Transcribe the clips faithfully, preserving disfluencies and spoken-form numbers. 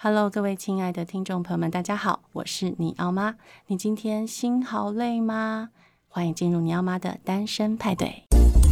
Hello， 各位親愛的聽眾朋友們，大家好，我是尼奧媽。你今天心好累嗎？歡迎進入尼奧媽的單身派對。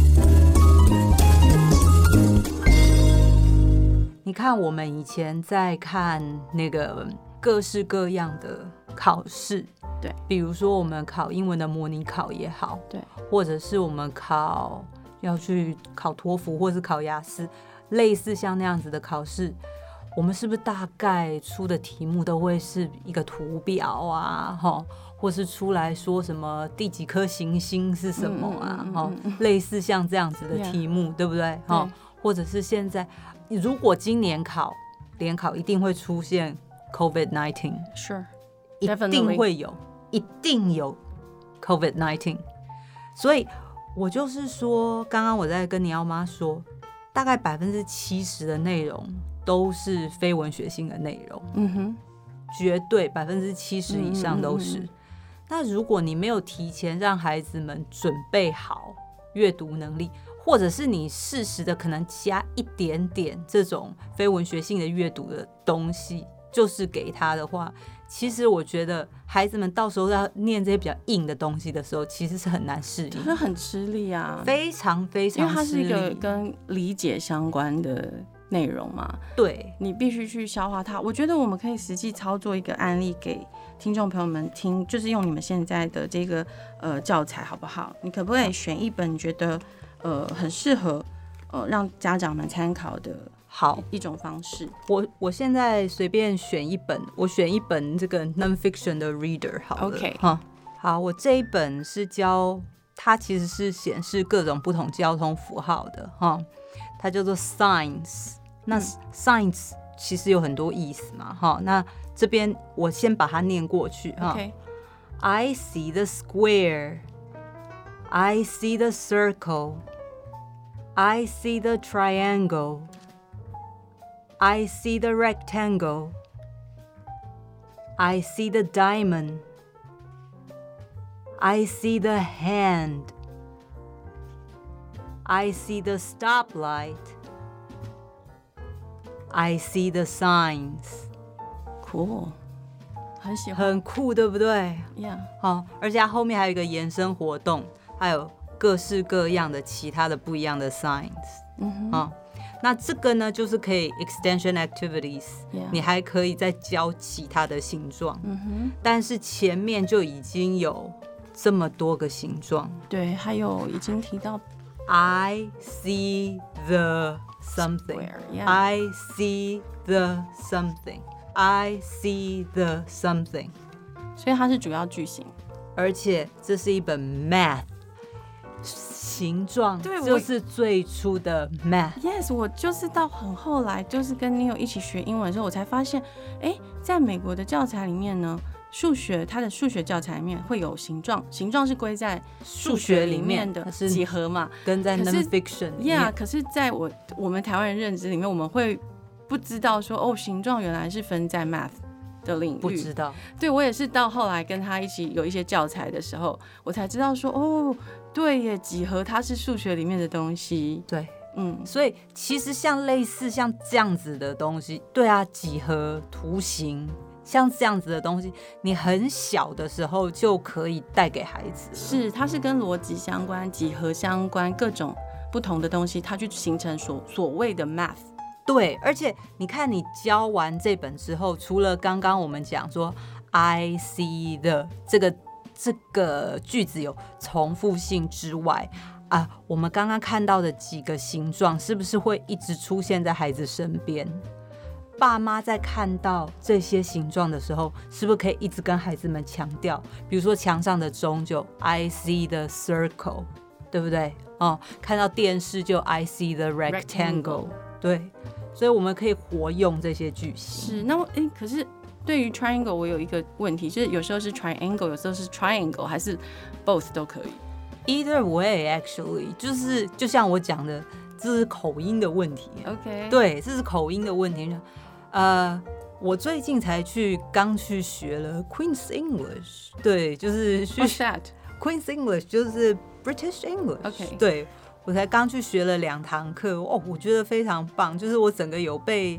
你看，我們以前在看那個各式各樣的考試， 對， 比如說我們考英文的模擬考也好， 對， 或者是我們考要去考托福或是考雅思，類似像那樣子的考試。我們是不是大概出的題目都會是一個圖表啊，或是出來說什麼第幾顆行星是什麼啊，嗯嗯嗯嗯、類似像這樣子的題目， yeah, 對不對？對，或者是現在，如果今年考聯考一定會出現 COVID 十九， Sure， 一定會有，一定有 COVID 十九。所以我就是說，剛剛我在跟尼奧媽說，大概百分之七十的內容都是非文學性的內容，嗯哼，絕對百分之七十以上都是。嗯嗯嗯嗯。那如果你沒有提前讓孩子們準備好閱讀能力，或者是你適時的可能加一點點這種非文學性的閱讀的東西，就是給他的話，其實我覺得孩子們到時候要念這些比較硬的東西的時候，其實是很難適應， 就是很吃力啊， 非常非常吃力，因為它是一個跟理解相關的內容嘛， 對， 你必須去消化它。我覺得我們可以實際操作一個案例給聽眾朋友們聽，就是用你們現在的這個呃教材好不好？你可不可以選一本你覺得呃很適合呃讓家長們參考的好一種方式？ 我我現在隨便選一本，我選一本這個 non-fiction 的 reader 好了。OK， 哈，好，我這一本是教它其實是顯示各種不同交通符號的哈，它叫做 Signs。那 science 其實有很多意思嘛，哈。那這邊我先把它念過去哈。Okay. I see the square, I see the circle, I see the triangle, I see the rectangle, I see the diamond, I see the hand, I see the stoplight.I see the signs. Cool， 很喜歡， 很酷，對不對 ？Yeah， 好，而且它後面還有一個延伸活動，還有各式各樣的其他的不一樣的 signs。嗯哼，那這個呢，就是可以 extension activities，yeah. 你還可以再教其他的形狀。嗯哼，但是前面就已經有這麼多個形狀。 對，還有已經提到 I see the。Something. Square, yeah. I see the something. I see the something. 所以它是主要句型， 而且這是一本 math 形狀，對，就是最初的 math。 Yes， 我就是到很後來，就是跟你有一起學英文的時候，我才發現，哎，在美國的教材裡面呢。數學，它的數學教材裡面會有形狀，形狀是歸在數學裡面的幾何嘛， 跟在 non-fiction。 Yeah， 可是在我我們台灣人認知裡面，我們會不知道說，哦，形狀原來是分在 math 的領域。 不知道。對， 我也是到後來跟他一起有一些教材的時候，我才知道說，哦，對耶，幾何它是數學裡面的東西。 對，嗯，所以其實像類似像這樣子的東西，對啊，幾何圖形。像這樣子的東西，你很小的時候就可以帶給孩子。 是，它是跟邏輯相關、幾何相關，各種不同的東西，它就形成所所謂的 math。 對，而且你看，你教完這本之後，除了剛剛我們講說 I see the 這個這個句子有重複性之外，啊，我們剛剛看到的幾個形狀，是不是會一直出現在孩子身邊？爸媽在看到這些形狀的時候，是不是可以一直跟孩子們強調？比如說牆上的鐘就 I see the circle， 對不對？哦，看到電視就 I see the rectangle，, rectangle 對，所以我們可以活用這些句型。 是，那我誒，可是對於 triangle， 我有一個問題，就是有時候是 triangle， 有時候是 triangle， 還是 both 都可以 ？Either way, actually， 就是就像我講的，這是口音的問題。 OK， 對，這是口音的問題。呃，我最近才去剛去學了 Queen's English， 對，就是去 What's that? Queen's English 就是 British English，OK， 對，我才剛去學了兩堂課，哦，我覺得非常棒，就是我整個有被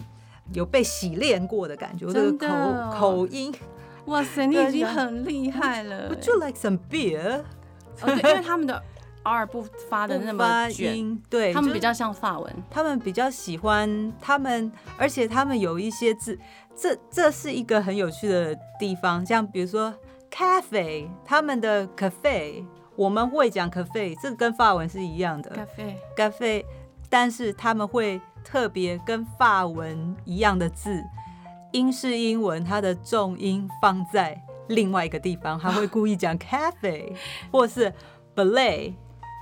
有被洗練過的感覺，我這個口口音， 哇塞，你已經很厲害了。 Would you like some beer？ 哦，對，因為他們的 R 不發的那麼捲， 對， 他們比較像法文， 他們比較喜歡他們，而且他們有一些字，這這是一個很有趣的地方，像比如說 cafe， 他們的 cafe， 我們會講 cafe， 這個跟法文是一樣的 cafe cafe， 但是他們會特別跟法文一樣的字，英式英文它的重音放在另外一個地方，他會故意講 cafe 或是 ballet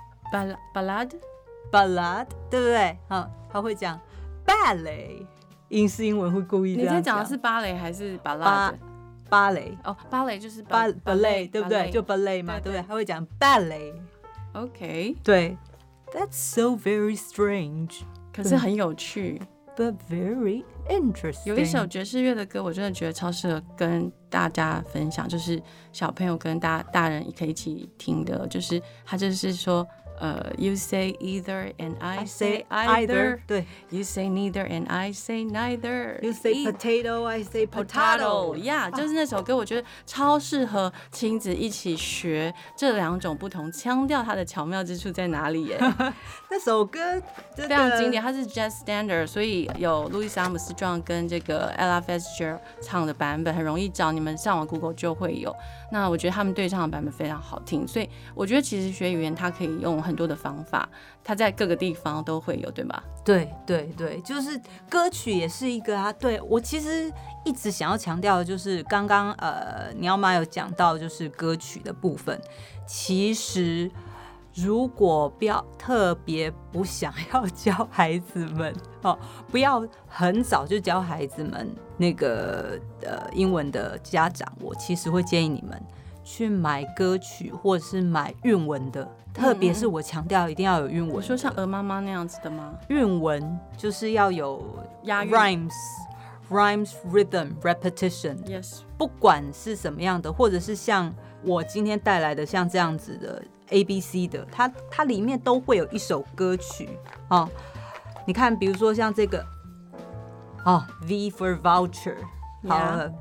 ballad ballad 對不對？好，他會講 ballet， 英式英文會故意這樣講。 你在講的是芭蕾還是 ballad？ 芭蕾哦，芭蕾就是 ballet 對不對？就 ballet 嘛，對不對？他會講 ballet。OK， 对 ，That's so very strange。 可是很有趣 ，But very interesting。 有一首爵士樂的歌，我真的覺得超適合跟大家分享，就是小朋友跟大大人也可以一起聽的，就是他就是說。呃、uh, ，You say either and I say either. 對 ，You say neither and I say neither. You say potato, I say potato. Yeah， 就是那首歌，我覺得超適合親子一起學這兩種不同腔調，它的巧妙之處在哪裡耶？ 那首歌非常經典，它是 Jazz Standard， 所以有路易斯·阿姆斯壯跟這個 Ella Fitzgerald 唱的版本，很容易找，你們上網 Google 就會有。那我覺得他們對唱的版本非常好聽，所以我覺得其實學語言它可以用很多的方法，它在各個地方都會有，對吧？ 對對對，就是歌曲也是一個啊。對，我其實一直想要強調的就是剛剛呃，鳥媽有講到就是歌曲的部分。其實如果不要特別不想要教孩子們哦，不要很早就教孩子們那個呃英文的家長，我其實會建議你們去買歌曲或者是買韻文的。特別是我強調一定要有韻文。我說像鵝媽媽那樣子的嗎？ 韻文就是要有押韻 rhymes rhymes rhythm repetition。 Yes， 不管是什麼樣的，或者是像我今天帶來的像這樣子的 A B C 的，它它裡面都會有一首歌曲哦。你看，比如說像這個哦 V for voucher， 好了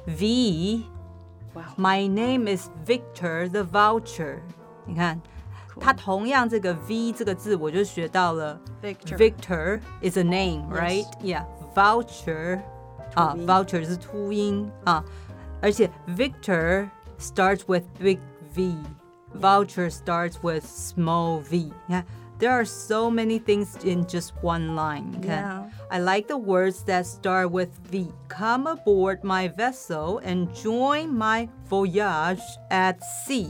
V。My name is Victor the voucher。你看。它同樣這個 V 這個字，我就學到了 Victor, Victor is a name, right? Yes. Yeah, voucher 啊 ，voucher 是禿音啊，而且 Victor starts with big V, voucher starts with small V. 你看 ，there are so many things in just one line. 你看 Yeah. I like the words that start with V. Come aboard my vessel and join my voyage at sea.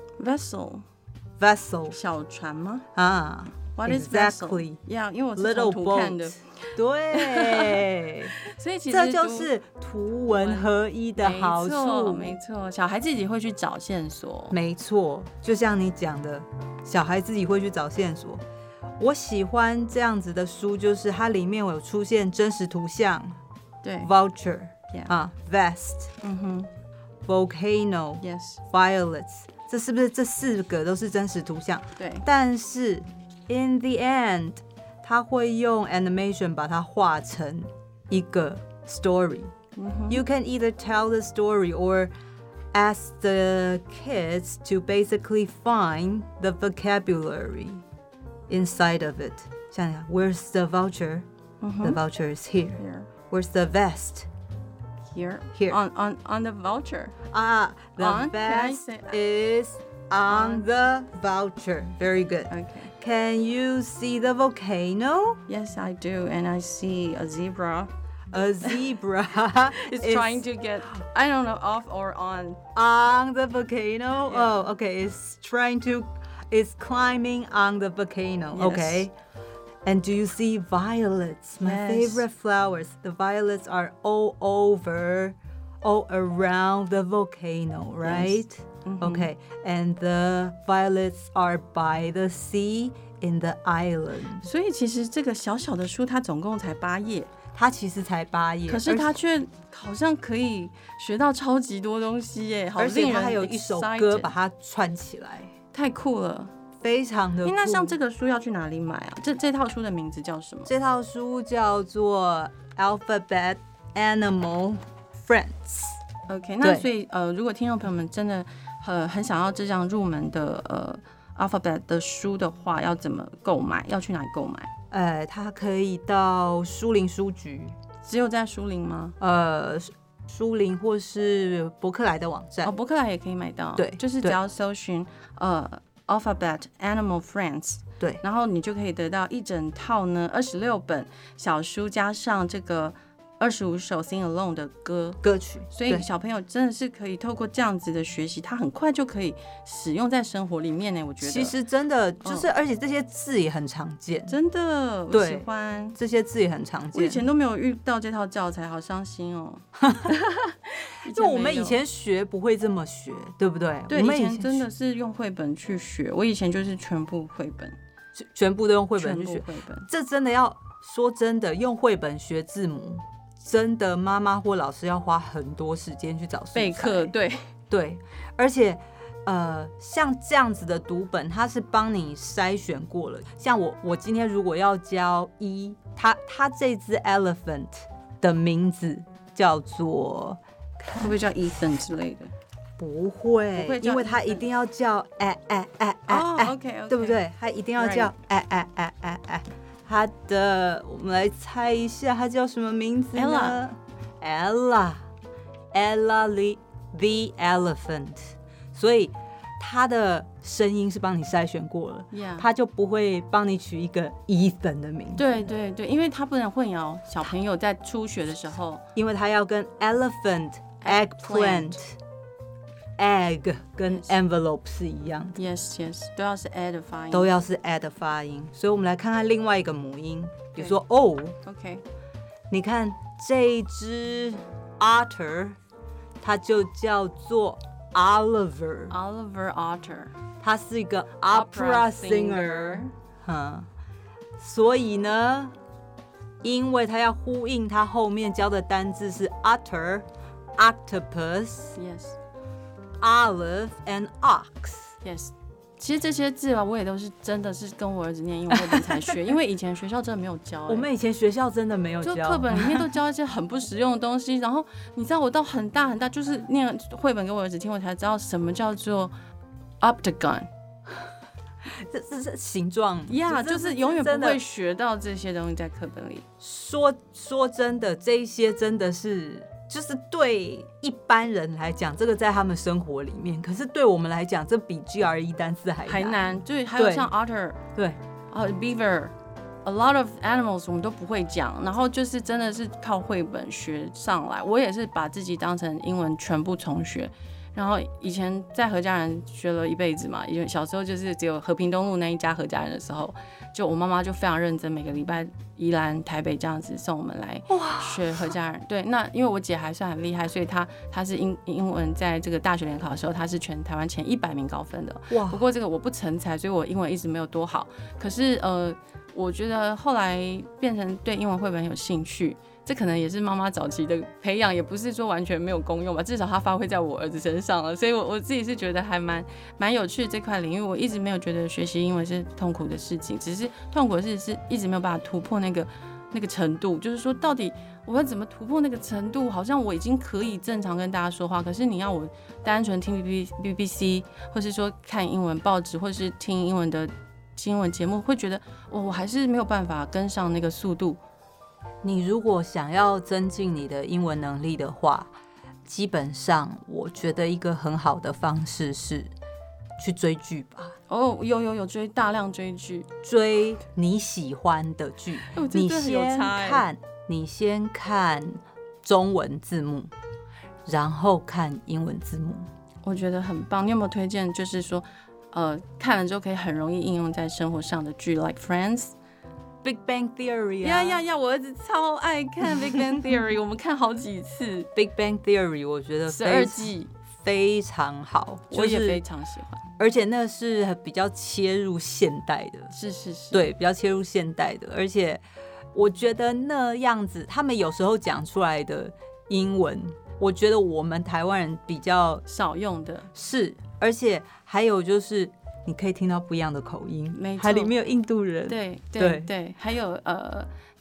Vessel.Vessel 小船嗎？ 啊 ，What is vessel? Yeah， 因為我是從圖看的。 對， 所以其實這就是圖文合一的好處。 沒錯，小孩自己會去找線索。 沒錯，就像你講的，小孩自己會去找線索。我喜歡這樣子的書，就是它裡面有出現真實圖像。 對 ，voucher yeah. 啊 ，vest， 嗯哼 ，volcano，yes， violets。這是不是這四個都是真實圖像？ 對。 但是 in the end， 他會用 animation 把它畫成一個 story。You can either tell the story or ask the kids to basically find the vocabulary inside of it. 像你看 Where's the voucher? The voucher is here. Where's the vest?Here, Here. On, on, on the voucher. Ah, the on? vest is on, on the voucher. Very good. Okay. Can you see the volcano? Yes, I do. And I see a zebra. A zebra is trying to get, I don't know, off or on. On the volcano? Yeah. Oh, okay. It's trying to, it's climbing on the volcano. Yes. Okay.And do you see violets? My yes. favorite flowers. The violets are all over, all around the volcano, right? Yes. Mm-hmm. Okay. And the violets are by the sea in the island. 所以其實這個小小的書，它總共才八頁。 它其實才八頁， 可是它卻好像可以學到超級多東西耶！好而且它還有一首歌把它串起來， 太酷了。 非常的酷。 那像這個書要去哪裡買啊？這這套書的名字叫什麼？ 這套書叫做 Alphabet Animal Friends。OK， 那所以呃，如果聽眾朋友們真的很很想要這樣入門的呃 Alphabet 的書的話，要怎麼購買？要去哪裡購買？ 呃，它可以到書林書局。 只有在書林嗎？ 呃。書林或是博客來的網站， 哦，博客來也可以買到。 對， 就是只要搜尋呃 Alphabet Animal Friends， 對， 然後你就可以得到一整套呢二十六本小書，加上這個二十五首 Sing Along 的歌歌曲， 所以小朋友真的是可以透過這樣子的學習，他很快就可以使用在生活裡面呢。我覺得其實真的就是，而且這些字也很常見， 真的，我喜歡這些字也很常見。 我以前都沒有遇到這套教材，好傷心哦。 因為我們以前學不會這麼學，對不對？ 對， 我們以前真的是用繪本去學，我以前就是全部繪本， 全部都用繪本去學。 繪本， 這真的要說真的，用繪本學字母。真的，媽媽或老師要花很多時間去找素材備課，對對，而且呃，像這樣子的讀本，它是幫你篩選過了。像我，我今天如果要教一，它它這隻 elephant 的名字叫做， 會不會叫 Ethan 之類的？ 不會， 不會， 因為它一定要叫哎哎哎哎哎 ，OK OK， 對不對？它一定要叫哎哎哎哎哎。他的，我們來猜一下，他叫什麼名字呢 ？Ella，Ella Ella the the elephant。所以他的聲音是幫你篩選過了， yeah. 他就不會幫你取一個 Ethan 的名字。 對對對，因為他不能混淆小朋友在初學的時候， 因為他要跟 elephant、eggplant。egg 跟 envelope 是一樣的 ，yes yes， 都要是 a 的發音， 都要是 a 的發音，所以我們來看看另外一個母音，比如說 o， OK， 你看這一隻 otter， 它就叫做 Oliver，Oliver Otter， 它是一個 opera singer， 嗯，所以呢，因為它要呼應它後面教的單字是 otter、octopus，yes。Olive and ox. Yes， 其實這些字啊，我也都是真的是跟我兒子念英文繪本才學，因為以前學校真的沒有教、欸。 我們以前學校真的沒有教， 就課本裡面都教一些很不實用的東西。然後你知道，我到很大很大，就是念繪本給我兒子聽，我才知道什麼叫做 octagon。 這這是形狀呀， yeah, 就是永遠不會學到這些東西在課本裡。 說說真的，這一些真的是。就是對一般人來講，這個在他們生活裡面，可是對我們來講，這比 G R E 單詞還難還難。對，還有像 otter， 對，啊 beaver，a lot of animals 我們都不會講，然後就是真的是靠繪本學上來。我也是把自己當成英文全部重學，然後以前在何嘉仁學了一輩子嘛，因為小時候就是只有和平東路那一家何嘉仁的時候，就我媽媽就非常認真，每個禮拜宜蘭、台北這樣子送我們來學何嘉仁。對，那因為我姐還算很厲害，所以她她是英英文在這個大學聯考的時候，她是全台灣前一百名高分的。哇！不過這個我不成才，所以我英文一直沒有多好。可是呃，我覺得後來變成對英文繪本有興趣。這可能也是媽媽早期的培養，也不是說完全沒有功用吧，至少它發揮在我兒子身上了，所以我我自己是覺得還蠻蠻有趣的這塊領域。我一直沒有覺得學習英文是痛苦的事情，只是痛苦的事是一直沒有辦法突破那個那個程度，就是說到底我要怎麼突破那個程度？好像我已經可以正常跟大家說話，可是你要我單純聽 B B C， 或是說看英文報紙，或是聽英文的新聞節目，會覺得我我還是沒有辦法跟上那個速度。 你如果想要增進你的英文能力的話，基本上我覺得一個很好的方式是去追劇吧。 哦，有有有追大量追劇， 追你喜歡的劇。 哦， 你先看，你先看中文字幕，然後看英文字幕。 我覺得很棒。你有沒有推薦？就是說，呃，看了之後可以很容易應用在生活上的劇 ，like Friends。Big Bang Theory 呀呀呀！我兒子超愛看 Big Bang Theory， 我們看好幾次。 Big Bang Theory 我覺得十二季非常好， 我也非常喜歡。 而且那是比較切入現代的， 是是是， 對，比較切入現代的。而且我覺得那樣子，他們有時候講出來的英文，我覺得我們台灣人比較少用的， 是。而且還有就是。你可以聽到不一樣的口音， 沒錯， 還裡面有印度人， 對對 對, 對，還有呃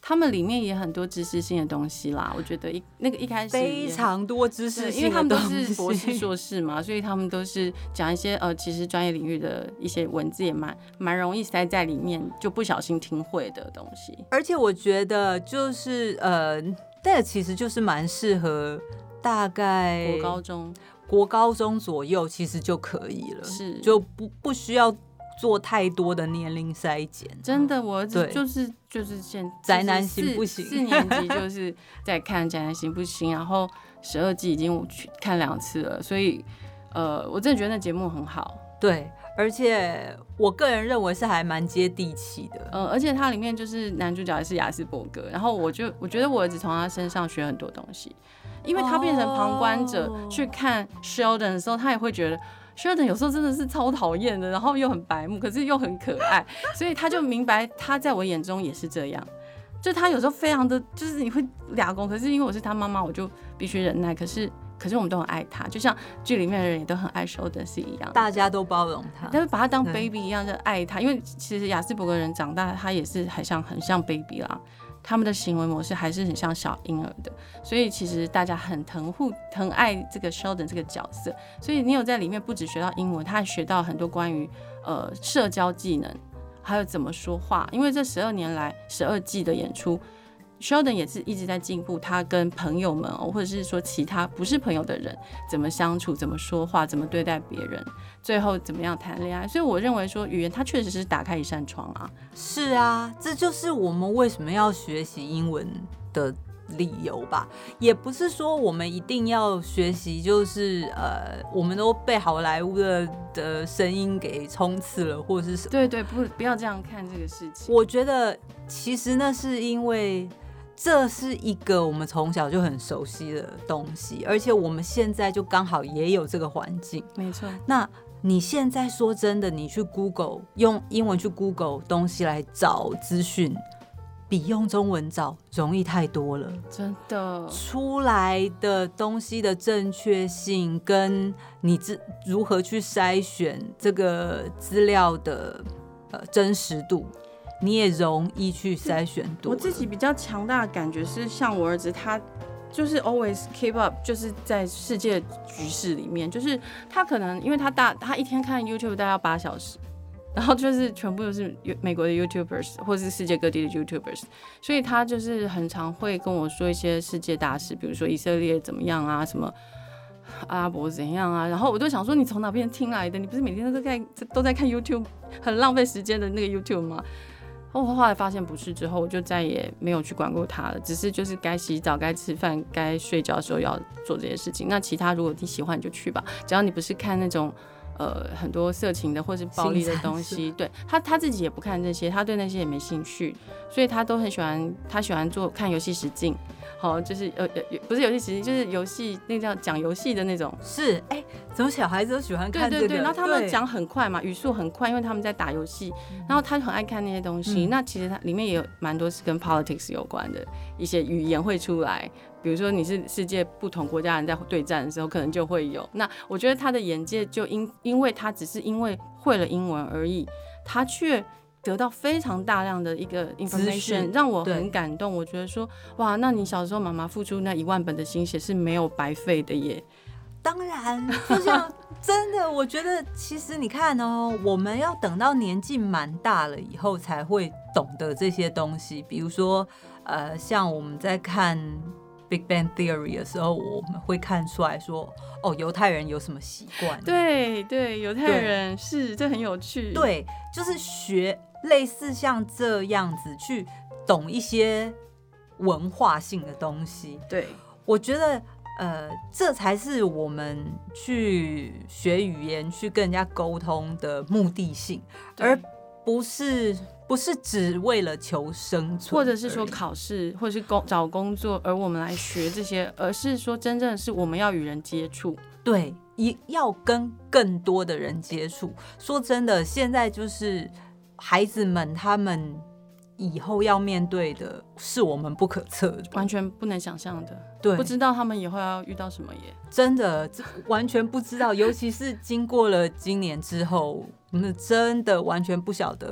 他們裡面也很多知識性的東西啦。我覺得一那個一開始非常多知識性的東西， 因為他們都是博士碩士嘛，所以他們都是講一些呃，其實專業領域的一些文字也蠻蠻容易塞在裡面，就不小心聽會的東西。而且我覺得就是呃，那個其實就是蠻適合大概國高中。 國高中左右其實就可以了， 是就不不需要做太多的年齡篩檢。 真的，我兒子就是就是現宅男行不行？ 四年級就是在看宅男行不行，然後十二季已經去看兩次了，所以呃，我真的覺得那節目很好。 對，而且我個人認為是還蠻接地氣的。 呃，而且它裡面就是男主角也是亞斯伯格，然後我就我覺得我兒子從他身上學很多東西。因為他變成旁觀者去看 Sheldon 的時候，他也會覺得 Sheldon 有時候真的是超討厭的，然後又很白目，可是又很可愛，所以他就明白他在我眼中也是這樣。就他有時候非常的，就是你會倆公，可是因為我是他媽媽，我就必須忍耐。可是可是我們都很愛他，就像劇裡面的人也都很愛 Sheldon 是一樣的， 大家都包容他， 但是把他當 baby 一樣的愛他。因為其實亞斯伯格人長大，他也是很像很像 baby 啦。他們的行為模式還是很像小嬰兒的，所以其實大家很疼護、疼愛這個 Sheldon 這個角色。所以你有在裡面不只學到英文，他還學到很多關於呃社交技能，還有怎麼說話。因為這十二年來十二季的演出 ，Sheldon 也是一直在進步，他跟朋友們或者是說其他不是朋友的人怎麼相處、怎麼說話、怎麼對待別人，最後怎麼樣談戀愛。所以我認為說語言它確實是打開一扇窗啊。 是啊，這就是我們為什麼要學習英文的理由吧。也不是說我們一定要學習，就是呃，我們都被好萊塢的的聲音給衝刺了，或者是什麼。 對對，不不要這樣看這個事情。 我覺得其實那是因為這是一個我們從小就很熟悉的東西，而且我們現在就剛好也有這個環境。 沒錯。 那你現在說真的，你去 Google 用英文去 Google 東西來找資訊，比用中文找容易太多了。 真的， 出來的東西的正確性，跟你如何去篩選這個資料的呃真實度，你也容易去篩選多了。 我自己比較強大的感覺是，像我兒子他。就是 always keep up， 就是在世界局勢裡面，就是他可能因為他大，他一天看 YouTube 大概要八小時，然後就是全部都是美國的 YouTubers 或是世界各地的 YouTubers， 所以他就是很常會跟我說一些世界大事，比如說以色列怎麼樣啊，什麼阿拉伯怎樣啊，然後我都想說你從哪邊聽來的？你不是每天都在都在看 YouTube， 很浪費時間的那個 YouTube 嗎？我後來發現不是，之後我就再也沒有去管過他了，只是就是該洗澡、該吃飯、該睡覺的時候要做這些事情。那其他如果你喜歡你就去吧，只要你不是看那種呃很多色情的或是暴力的東西，對，他他自己也不看這些，他對那些也沒興趣，所以他都很喜歡，他喜歡做看遊戲實境。好，就是呃呃，不是遊戲實境，就是遊戲那叫講遊戲的那種。 是，哎、欸，怎麼小孩子都喜歡看這個？ 對對對，然後他們講很快嘛，語速很快，因為他們在打遊戲，然後他很愛看那些東西。嗯、那其實它裡面也有蠻多是跟 politics 有關的一些語言會出來，比如說你是世界不同國家人在對戰的時候，可能就會有。那我覺得他的眼界就因因為他只是因為會了英文而已，他卻得到非常大量的一個 information， 讓我很感動。我覺得說，哇，那你小時候媽媽付出那一萬本的心血是沒有白費的耶。 當然，就像真的，我覺得其實你看哦，我們要等到年紀蠻大了以後才會懂得這些東西。比如說，呃，像我們在看 Big Bang Theory 的時候，我們會看出來說，哦，猶太人有什麼習慣？ 對對，猶太人是，這很有趣。 對，就是學。類似像這樣子去懂一些文化性的東西， 對， 我覺得呃，這才是我們去學語言、去跟人家溝通的目的性，而不是不是只為了求生存， 或者是說考試，或者是工找工作，而我們來學這些，而是說真正是我們要與人接觸， 對，要跟更多的人接觸。說真的，現在就是。孩子們，他們以後要面對的是我們不可測的， 完全不能想象的。 對， 不知道他們以後要遇到什麼耶， 真的完全不知道。尤其是經過了今年之後，我們真的完全不曉得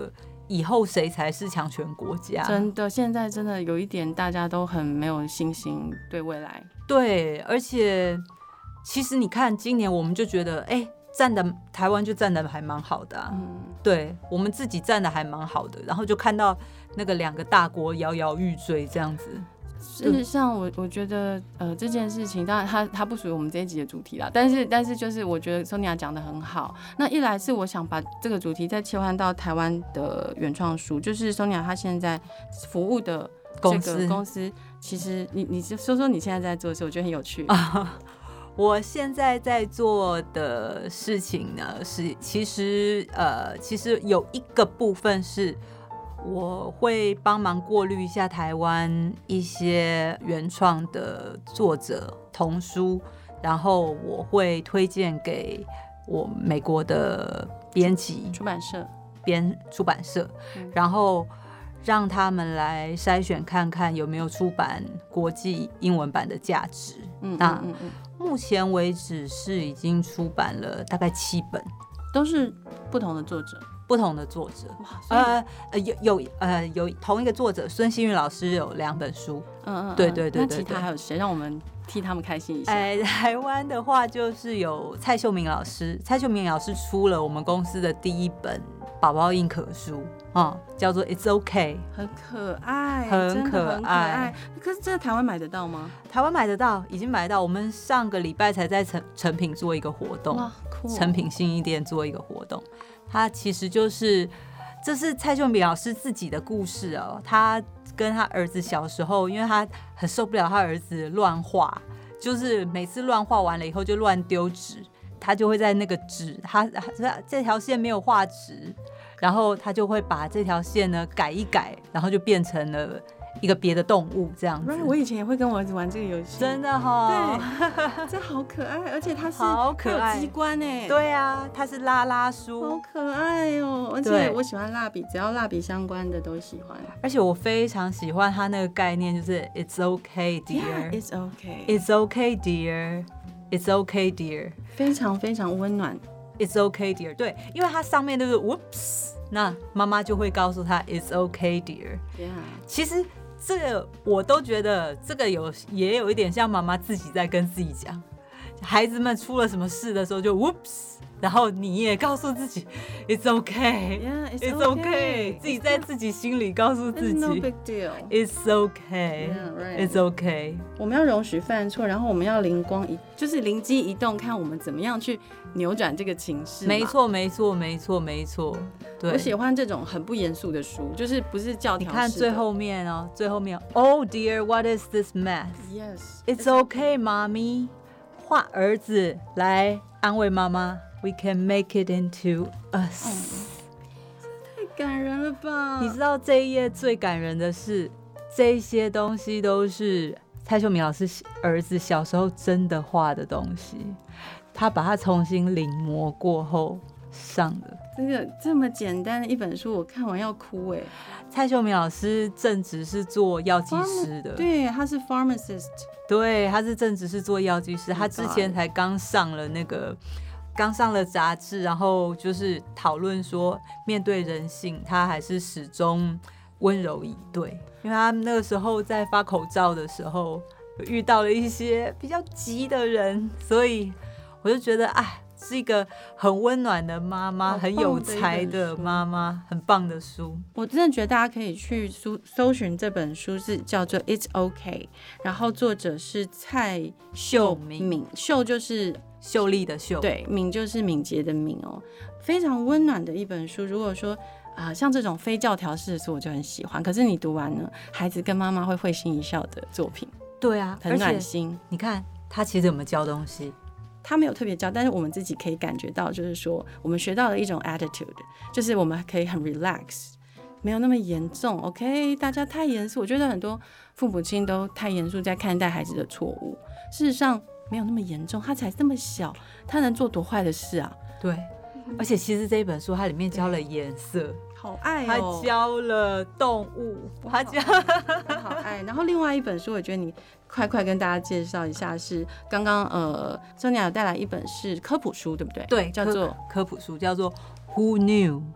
以後誰才是強權國家？ 真的，現在真的有一點大家都很沒有信心對未來。 對，而且其實你看，今年我們就覺得，哎、欸，站的台灣就站的還蠻好的、啊，嗯，對我們自己站的還蠻好的，然後就看到那個兩個大國搖搖欲墜這樣子。 事實上我，我我覺得，呃，這件事情當然它它不屬於我們這一集的主題啦，但是但是就是我覺得 Sonia 講得很好。那一來是我想把這個主題再切換到台灣的原創書，就是 Sonia 她現在服務的這個公司，其實你你說說你現在在做的事，我覺得很有趣。 我現在在做的事情呢，是其實呃，其實有一個部分是。我會幫忙過濾一下台灣一些原創的作者童書，然後我會推薦給我美國的編輯、 出版社、 編出版社，嗯，然後讓他們來篩選看看有沒有出版國際英文版的價值。嗯，那嗯嗯嗯目前為止是已經出版了大概七本， 都是不同的作者。 不同的作者，呃有有呃有同一個作者孫欣宇老師有兩本書，嗯嗯，對對對對。 那其他還有誰？讓我們替他們開心一下。 哎，台灣的話就是有蔡秀明老師，蔡秀明老師出了我們公司的第一本寶寶硬殼書，嗯，叫做 It's OK， 很可愛， 很可愛。 很可愛。可是這台灣買得到嗎？ 台灣買得到，已經買得到。我們上個禮拜才在成成品做一個活動，哇，酷！成品信義店做一個活動。他其實就是，這是蔡秀明老師自己的故事哦。他跟他兒子小時候，因為他很受不了他兒子亂畫，就是每次亂畫完了以後就亂丟紙，他就會在那個紙，他他這條線沒有畫直，然後他就會把這條線呢改一改，然後就變成了一個別的動物這樣子。 Right, 我以前也會跟我兒子玩這個遊戲， 真的哈、哦， 對，這好可愛，而且它是好可愛，機關哎， 對啊，它是拉拉書， 好可愛哦，而且我喜歡蠟筆，只要蠟筆相關的都喜歡， 而且我非常喜歡它那個概念，就是 It's okay, dear, yeah, It's okay, It's okay, dear, It's okay, dear， 非常非常溫暖 ，It's okay, dear， 對，因為它上面都是 Whoops， 那媽媽就會告訴他 It's okay, dear， yeah. 其實。這個我都覺得，這個有也有一點像媽媽自己在跟自己講，孩子們出了什麼事的時候就 whoops， 然後你也告訴自己 it's okay, yeah, it's, it's okay, okay. 自己在自己心裡告訴自己 It's no big deal, it's okay, yeah, right. it's okay。 我們要容許犯錯，然後我們要靈光一，就是靈機一動，看我們怎麼樣去扭轉這個情勢。 沒錯，沒錯，沒錯，沒錯。對， 我喜歡這種很不嚴肅的書，就是不是教條式的。你看最後面哦，最後面 ，Oh dear, what is this mess? Yes, it's okay, mommy。畫兒子來安慰媽媽 ，We can make it into us。嗯， 太感人了吧！ 你知道這一頁最感人的是，這些東西都是蔡秀明老師兒子小時候真的畫的東西，他把它重新臨摹過後上的。 這個這麼簡單的一本書，我看完要哭哎！ 蔡秀明老師正職是做藥劑師的， 對，他是 pharmacist， 對，他是正職是做藥劑師，他之前才剛上了那個，剛上了雜誌，然後就是討論說，面對人性，他還是始終溫柔以對，因為他那個時候在發口罩的時候，遇到了一些比較急的人，所以我就覺得，哎。是一個很溫暖的媽媽，很有才的媽媽，很棒的書。 我真的覺得大家可以去搜搜尋這本書，是叫做 It's OK， 然後作者是蔡秀敏，秀就是秀麗的秀， 對，敏就是敏捷的敏哦，非常溫暖的一本書。如果說啊、呃，像這種非教條式的書，我就很喜歡。可是你讀完了，孩子跟媽媽會會心一笑的作品， 對啊， 很暖心。 你看他其實有沒有教東西？ 他沒有特別教，但是我們自己可以感覺到，就是說我們學到了一種 attitude， 就是我們可以很 relax， 沒有那麼嚴重。OK， 大家太嚴肅，我覺得很多父母親都太嚴肅在看待孩子的錯誤。事實上沒有那麼嚴重，他才這麼小，他能做多壞的事啊？ 對，而且其實這一本書它裡面教了顏色， 好愛哦， 他教了動物，他教好愛。然後另外一本書，我覺得你。快快跟大家介紹一下，是剛剛呃，Sonia有帶來一本是科普書，對不對？ 對， 叫做科普書，叫做 Who Knew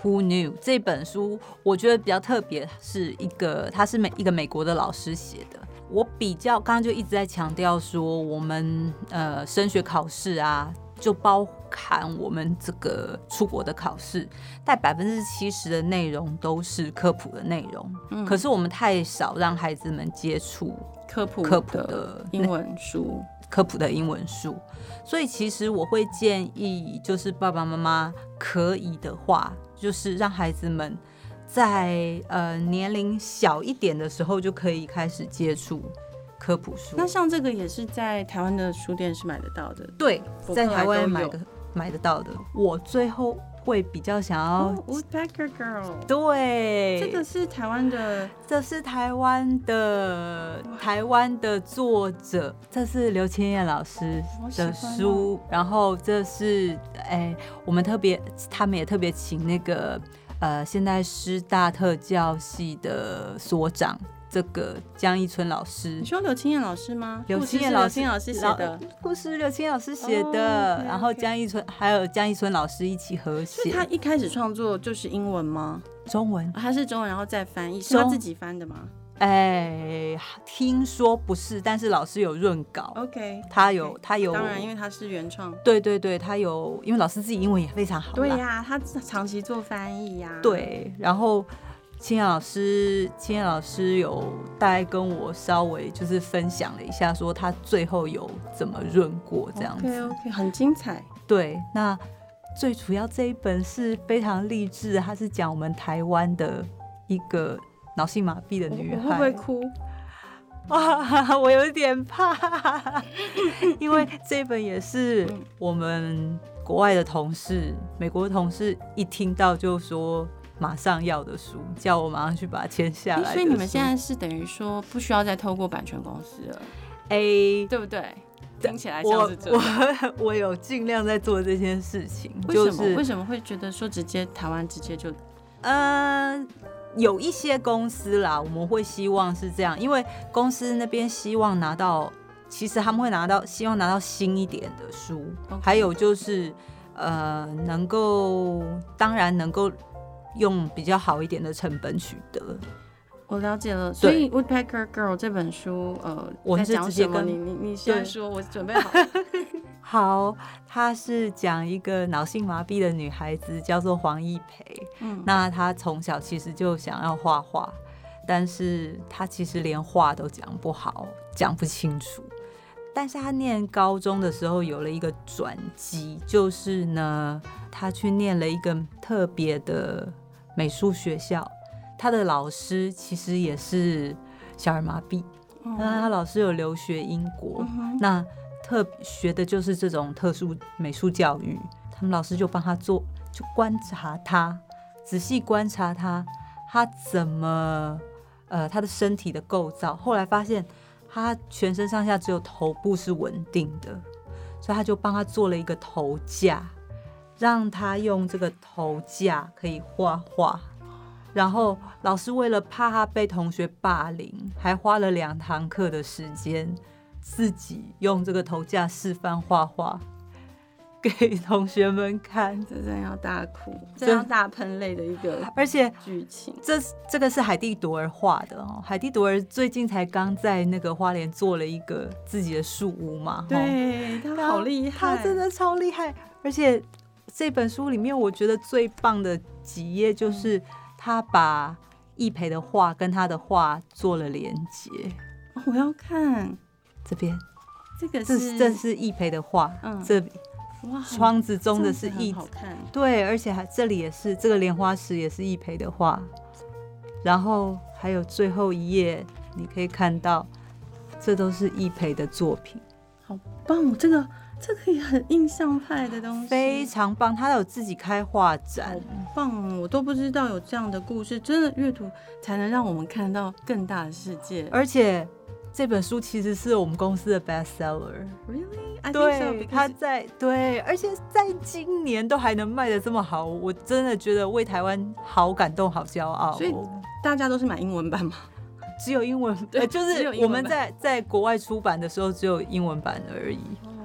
Who Knew 這本書，我覺得比較特別，是一個他是美一個美國的老師寫的。我比較剛剛就一直在強調說，我們呃升學考試啊，就包含我們這個出國的考試，大概百分之七十的內容都是科普的內容。嗯，可是我們太少讓孩子們接觸科普科普的英文書， 科普的英文書。所以其實我會建議，就是爸爸媽媽可以的話，就是讓孩子們在呃年齡小一點的時候就可以開始接觸科普書。 那像這個也是在台灣的書店是買得到的？ 對，在台灣買的買得到的。我最後會比較想要 Woodpecker Girl， 對， 這個是台灣的， 這是台灣的台灣的作者，這是劉千燕老師的書，然後這是哎，我們特別他們也特別請那個呃現在師大特教系的所長。這個江一村老師，你說劉清燕老師嗎？ 劉清燕老師， 老師寫的故事，劉清燕老師寫的， oh, okay, okay. 然後江一村還有江一村老師一起合寫。 他一開始創作就是英文嗎？ 中文， 他是中文，然後再翻譯，是他自己翻的嗎？ 哎，聽說不是，但是老師有潤稿。 OK， 他有，他有， 當然，因為他是原創。 對對對，他有，因為老師自己英文也非常好。 對呀、啊，他長期做翻譯呀、啊。 對，然後。清燕老師，清燕老師有大概跟我稍微就是分享了一下，說他最後有怎麼潤過這樣子。 OK OK， 很精彩。 對，那最主要這一本是非常勵志，它是講我們台灣的一個腦性麻痹的女孩。 我會不會哭？ 哇，我有點怕，因為這本也是我們國外的同事，美國的同事一聽到就說。馬上要的書，叫我馬上去把它簽下來。 所以你們現在是等於說不需要再透過版權公司了， 哎， 對不對？聽起來像是這樣。我我有盡量在做這件事情。 為什麼？ 就是、 為什麼會覺得說直接台灣直接就？ 呃，有一些公司啦，我們會希望是這樣，因為公司那邊希望拿到，其實他們會拿到，希望拿到新一點的書， okay. 還有就是呃，能夠，當然能夠。用比較好一點的成本取得， 我了解了。所以《Woodpecker Girl》這本書，呃， 我是直接跟你你你先說，我準備好了。 好，她是講一個腦性麻痹的女孩子，叫做黃一培。嗯，那她從小其實就想要畫畫，但是她其實連話都講不好，講不清楚。但是她念高中的時候有了一個轉機，就是呢，她去念了一個特別的美術學校，他的老師其實也是小兒麻痹，那、嗯、他老師有留學英國，嗯、那特學的就是這種特殊美術教育。他們老師就幫他做，就觀察他，仔細觀察他，他怎麼呃他的身體的構造。後來發現他全身上下只有頭部是穩定的，所以他就幫他做了一個頭架。讓他用這個頭架可以畫畫，然後老師為了怕他被同學霸凌，還花了兩堂課的時間，自己用這個頭架示範畫畫給同學們看。 這真的要大哭，這樣大噴淚的一個， 而且劇情。 這這個是海蒂朵兒畫的哦，海蒂朵兒最近才剛在那個花蓮做了一個自己的樹屋嘛， 對，他好厲害， 他真的超厲害，而且。這本書裡面，我覺得最棒的幾頁就是他把易培的畫跟他的畫做了連接。 哦，我要看這邊，這個是這是易培的畫，嗯，這哇，窗子中的是易， 好看， 對，而且還這裡也是這個蓮花石也是易培的畫，然後還有最後一頁，你可以看到，這都是易培的作品， 好棒，這個。這個也很印象派的東西， 非常棒。他有自己開畫展， 好棒！我都不知道有這樣的故事，真的閱讀才能讓我們看到更大的世界。 而且這本書其實是我們公司的 bestseller。 Really? I think so, 對，他在對，而且在今年都還能賣得這麼好，我真的覺得為台灣好感動、好驕傲。 所以大家都是買英文版嗎？ 只有英文，對，就是我們在在國外出版的時候只有英文版而已。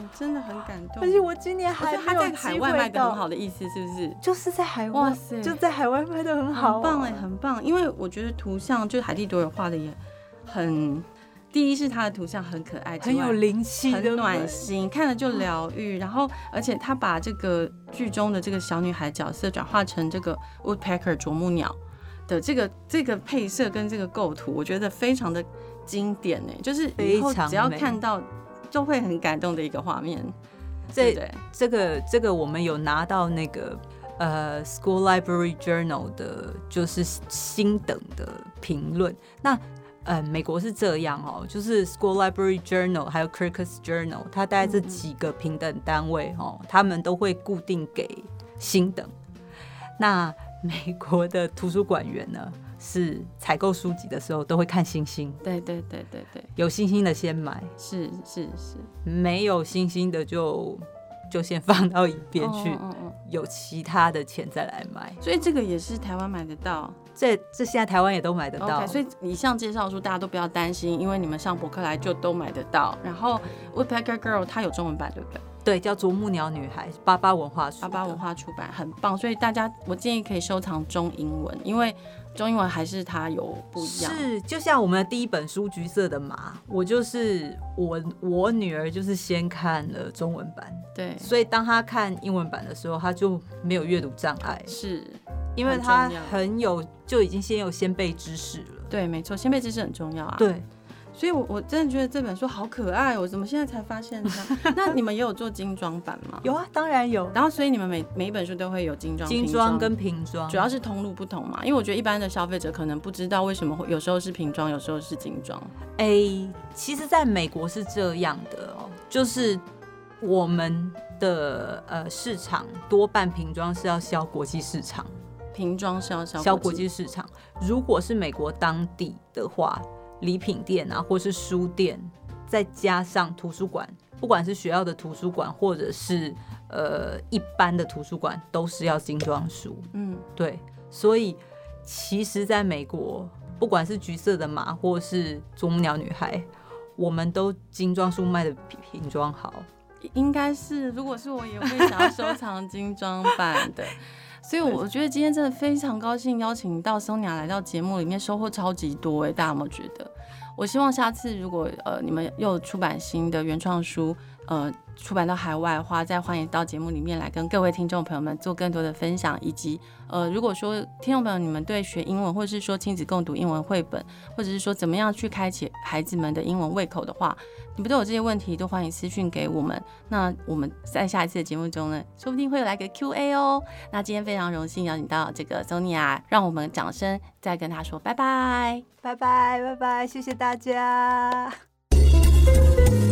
真的很感動。 而且我今年還沒有機會到， 他在海外賣的很好的意思是不是？ 就是在海外， 哇塞， 就在海外賣的很好、啊， 很棒哎，很棒。因為我覺得圖像就是海蒂朵爾畫的也很，第一是他的圖像很可愛， 很有靈氣， 很暖心，看了就療癒。然後而且他把這個劇中的這個小女孩角色轉化成這個 woodpecker 啄木鳥的這個這個配色跟這個構圖，我覺得非常的經典哎，就是以後只要看到就會很感動的一個畫面。對對， 這個這個我們有拿到那個呃 School Library Journal 的，就是星等的評論。那呃美國是這樣哦，就是 School Library Journal 還有 Critics Journal， 它大概這幾個評等單位哦，他們都會固定給星等。那美國的圖書館員呢，是採購書籍的時候都會看星星， 對對對對對， 有星星的先買， 是是是，沒有星星的就就先放到一邊去，哦哦哦，有其他的錢再來買。 所以這個也是台灣買得到， 這這現在台灣也都買得到。 Okay, 所以以上介紹書大家都不要擔心，因為你們上博客來就都買得到。然後 Woodpecker Girl 它有中文版，對不對？ 對，叫啄木鳥女孩，八八文化出八八文化出版，很棒。所以大家，我建議可以收藏中英文，因為中英文還是它有不一樣。 是，就像我們的第一本書《橘色的馬》，我就是我我女兒就是先看了中文版， 對， 所以當她看英文版的時候，她就沒有閱讀障礙， 是因為她很有就已經先有先備知識了。 對，沒錯，先備知識很重要啊。 對。 所以我，我我真的覺得這本書好可愛，我怎麼現在才發現呢？那你們也有做精裝版嗎？ 有啊，當然有。 然後，所以你們每每一本書都會有精裝、 精裝跟平裝， 主要是通路不同嘛。因為我覺得一般的消費者可能不知道為什麼會有時候是平裝，有時候是精裝。 哎、欸，其實在美國是這樣的哦，就是我們的呃市場多半平裝是要銷國際市場， 平裝是要銷銷國際市場。如果是美國當地的話，禮品店啊，或是書店，再加上圖書館，不管是學校的圖書館，或者是呃一般的圖書館，都是要精裝書。嗯，对，所以其實在美國，不管是橘色的馬，或是啄木鳥女孩，我們都精裝書賣的比平裝好。 應該是，如果是我，也會想要收藏精裝版的。所以我覺得今天真的非常高興邀請到 Sonia 來到節目裡面，收穫超級多哎、欸，大家有沒有覺得？我希望下次如果呃你們又出版新的原創書，呃出版到海外的話，再歡迎到節目裡面來跟各位聽眾朋友們做更多的分享，以及呃如果說聽眾朋友你們對學英文，或者是說親子共讀英文繪本，或者是說怎麼樣去開啟孩子們的英文胃口的話，你們都有這些問題，都歡迎私訊給我們。那我們在下一次的節目中呢，說不定會有來個 Q A 哦。那今天非常榮幸邀請到這個 Sonia， 讓我們掌聲再跟她說拜拜， 拜拜，拜拜，謝謝大家。